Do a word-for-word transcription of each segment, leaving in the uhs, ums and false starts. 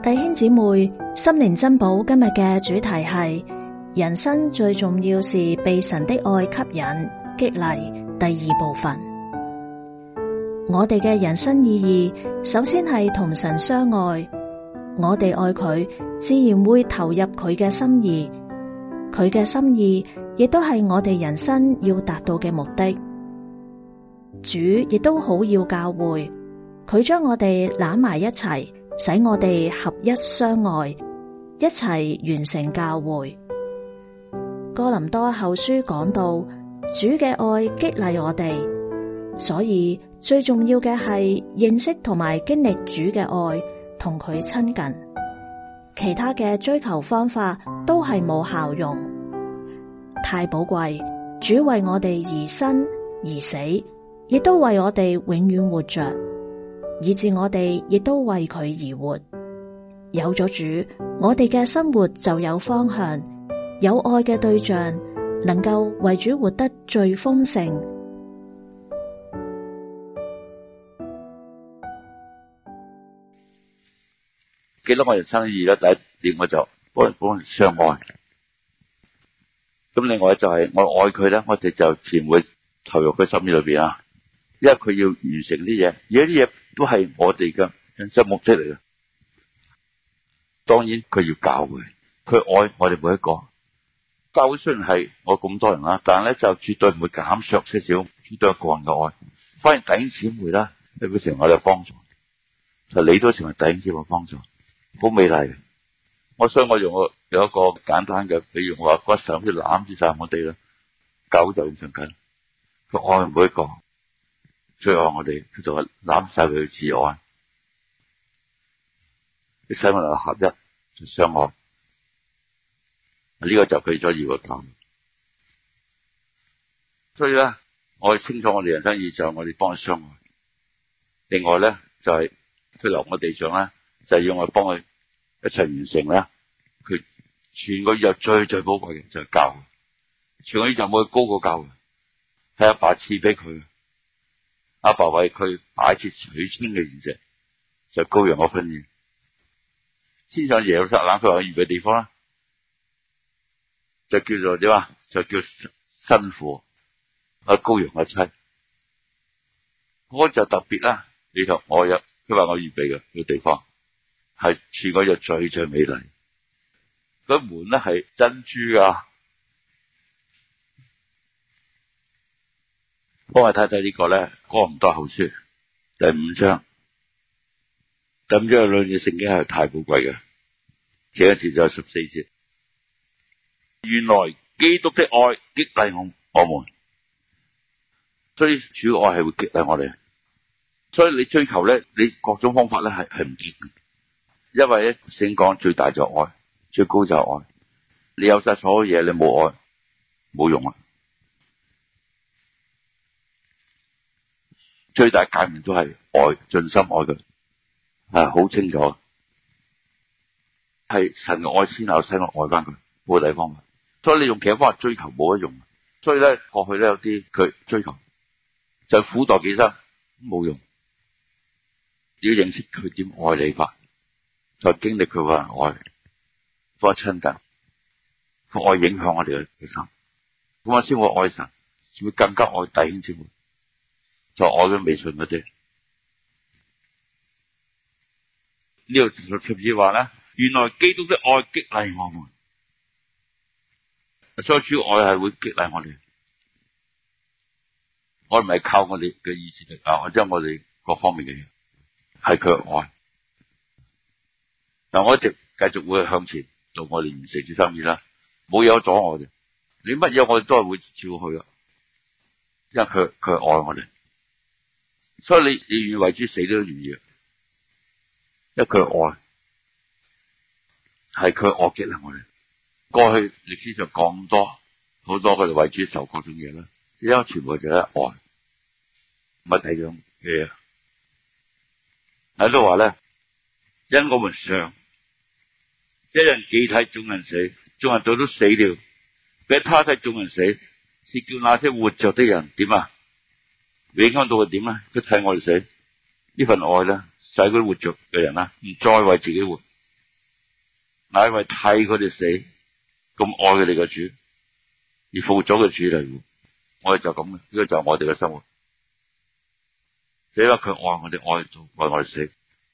弟兄姊妹，心靈珍寶今日嘅主題係人生最重要是被神的愛吸引激勵，第二部分。我哋嘅人生意義首先係同神相愛，我哋愛佢，自然會投入佢嘅心意，佢嘅心意亦都係我哋人生要達到嘅目的。主亦都好要教會，佢將我哋攬埋一齊，使我哋合一相愛，一齊完成教會。哥林多後書講到，主嘅愛激勵我哋，所以最重要嘅係認識同埋經歷主嘅愛，同佢親近。其他嘅追求方法都係冇效用。太寶貴，主為我哋而生而死，亦都為我哋永遠活着，以致我哋亦都為佢而活。有咗主，我哋嘅生活就有方向，有愛嘅對象，能夠為主活得最豐盛。 記得我人生意義咧，第一點我就幫人幫人相愛。咁另外就係我愛佢咧，我哋就自然會投入佢心意裏邊啊。因為佢要完成啲嘢，而家啲嘢都係我哋嘅人生目的嚟嘅。當然佢要教會，佢愛我哋每一個。教會雖然係我咁多人啦，但係咧就絕對唔會減削些少，絕對個人嘅愛。反而弟兄姊妹啦，你會成為我哋嘅幫助，就你都成為弟兄姊妹嘅幫助，好美麗。我想我用我有一個簡單嘅比喻，我話骨神好似攬住晒我哋啦，狗就咁上緊，佢愛每一個。最愛我哋，佢就係攬晒佢嘅自愛，你使我哋合一就相愛，呢、這個就佢所要嘅教。所以咧，我哋清楚我哋人生意義就係我哋幫佢相愛。另外咧，就係佢留我地上咧，就係、是、要我哋幫佢一齊完成咧。佢全個宇宙最最寶貴嘅就係教會，全個宇宙冇佢高過教會，係阿爸賜俾佢。阿爸為佢擺設取親嘅筵席，就羔羊嘅婚宴。先上耶路撒冷，佢話預備地方啦，就叫做點啊？就叫新婦阿羔羊嘅妻。嗰、那個、就特別啦。你同我有，佢話我預備嘅個地方係全個就最最美麗。嗰門咧係珍珠啊！幫我睇睇呢個咧，哥林多後書第五章，第五章嘅兩節聖經係太寶貴嘅，其一節就係十四節。原來基督的愛激勵我我們，所以主要愛係會激勵我哋。所以你追求咧，你各種方法咧係係唔結嘅，因為咧聖經講最大就愛，最高就愛。你有晒所有嘢，你冇愛冇用啊！最大誡命都係愛，盡心愛佢，係好清楚，係神嘅愛先有使我愛翻佢，冇第二方法。所以你用其他方法追求冇得用。所以咧，過去咧有啲佢追求就苦待己身冇用，要認識佢點愛你法，再經歷佢話愛，多親近，佢愛影響我哋嘅心，咁我先會愛神，會更加愛弟兄姊妹。就愛佢微信嗰啲，呢度甚至話咧，原來基督的愛激勵我們，所以主要愛係會激勵我哋。我唔係靠我哋嘅意志力啊，或者我哋各方面嘅嘢，係佢嘅愛。但我一直繼續會向前做我哋完成主心意啦，冇嘢阻我哋。你乜嘢我哋都係會照去啊，因為佢佢愛我哋。所以你你願意為主死都願意，因為佢愛係佢愛激勵我哋。過去歷史上咁多好多佢哋為主受各種嘢啦，因為全部就係愛，唔係第二樣嘢。喺度話咧，因我們常一人既睇眾人死，眾人都都死了，俾他睇眾人死，是叫那些活着的人點啊？影響到佢點咧？佢睇我哋死，呢份愛咧，使佢活着嘅人啦，唔再為自己活， 乃因為替佢哋死，咁愛佢哋嘅主，而復活咗嘅主嚟。我哋就咁嘅，呢個就係我哋嘅生活。因為佢愛我哋，愛到為我哋死，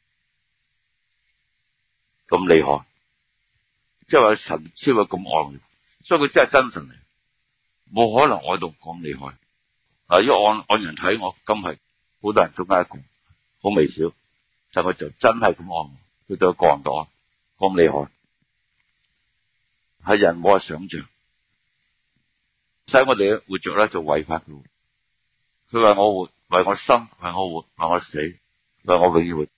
咁厲害，即係話神先會咁愛我哋，所以佢真係真神嚟，冇可能愛到咁厲害。嗱，如果按按人睇，我今係好多人中間一個，好微小，但佢就真係咁愛我，佢對個人嘅愛咁厲害，係人冇法想象。使我哋活着咧，就為返佢。佢話我活，為我生，為我活，為我死，為我永遠活。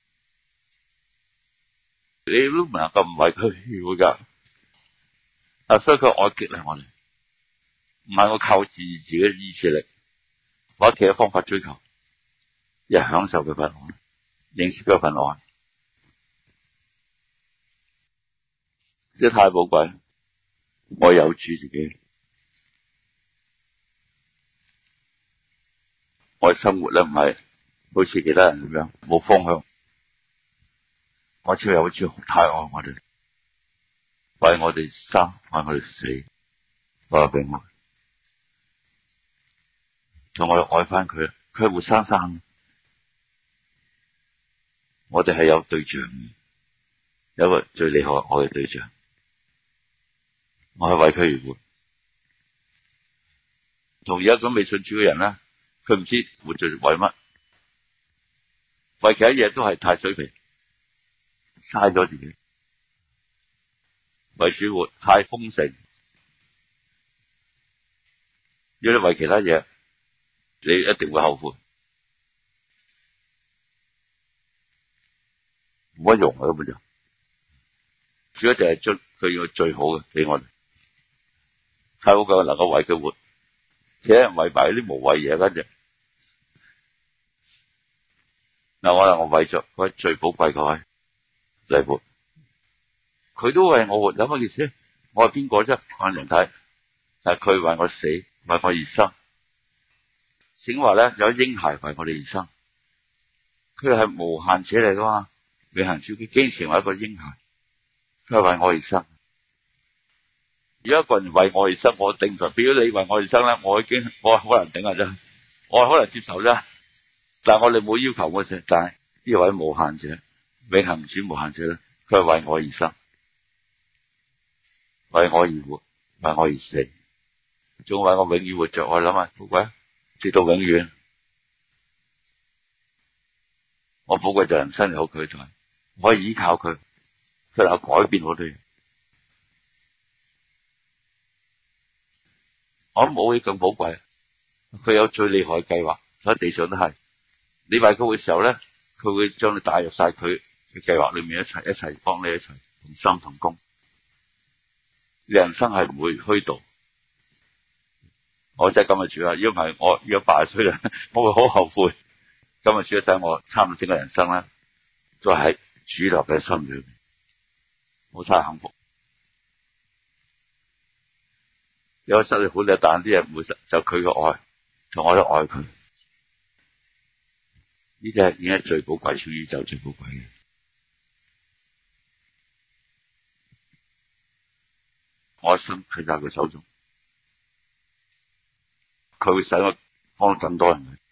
你都唔能夠唔為佢活噶。啊，所以佢愛激勵我哋，唔係我靠自自己嘅意志力，或者其他方法追求，而係享受佢份愛，認識佢份愛，即係太寶貴。我有主自己。我生活咧唔係好似其他人咁樣冇方向，我超有主太愛我哋，為我哋生，為我哋死，為我哋永活，同我哋愛翻佢，佢係活生生，我哋係有對象嘅，有一個最厲害愛嘅對象，我係為佢而活。同而家咁未信主嘅人咧，佢唔知活着為乜，為其他嘢都係太水皮，嘥咗自己。為主活太豐盛，如果你為其他嘢，你一定會後悔，冇乜用啊！根本就，主要就係將佢要最好嘅俾我哋，太好嘅能夠為佢活，其他人為埋啲無謂嘢，跟住。嗱，我話我為咗佢最寶貴嘅愛嚟活，佢都為我活，有乜意思？我係邊個啫？看人睇，但係佢為我死，為我而生。聖經話咧，有嬰孩為我哋而生，佢係無限者嚟噶嘛？永恆主，佢竟然成為一個嬰孩，佢係為我而生。如果一個人為我而生，我頂唔順。如果你為我而生咧，我已經我好難頂啊！真，我係好難接受啫。但係我哋冇要求嗰時，但係呢位無限者、永恆主無限者咧，佢係為我而生，為我而活，為我而死，仲為我永遠活着。我諗下，寶貴，直到永遠。我寶貴就人生有佢在，我可以依靠佢，佢能夠改變好多嘢。我諗冇嘢咁寶貴，佢有最厲害嘅計劃，喺地上都係。你為佢嘅時候咧，佢會將你帶入晒佢嘅計劃裏面，一齊一齊幫你一齊同心同工。你人生係唔會虛度。我真係今日主啊！如果唔係我如果八十歲啦，我會好後悔。今日主使我差唔多整個人生咧，都係喺主流嘅心裏面，我太幸福。有失去好多，但啲嘢唔會失，就佢嘅愛，同我都愛佢。呢啲係已經係最寶貴，全宇宙最寶貴嘅。我心喺晒佢手中，佢會使我幫更多人。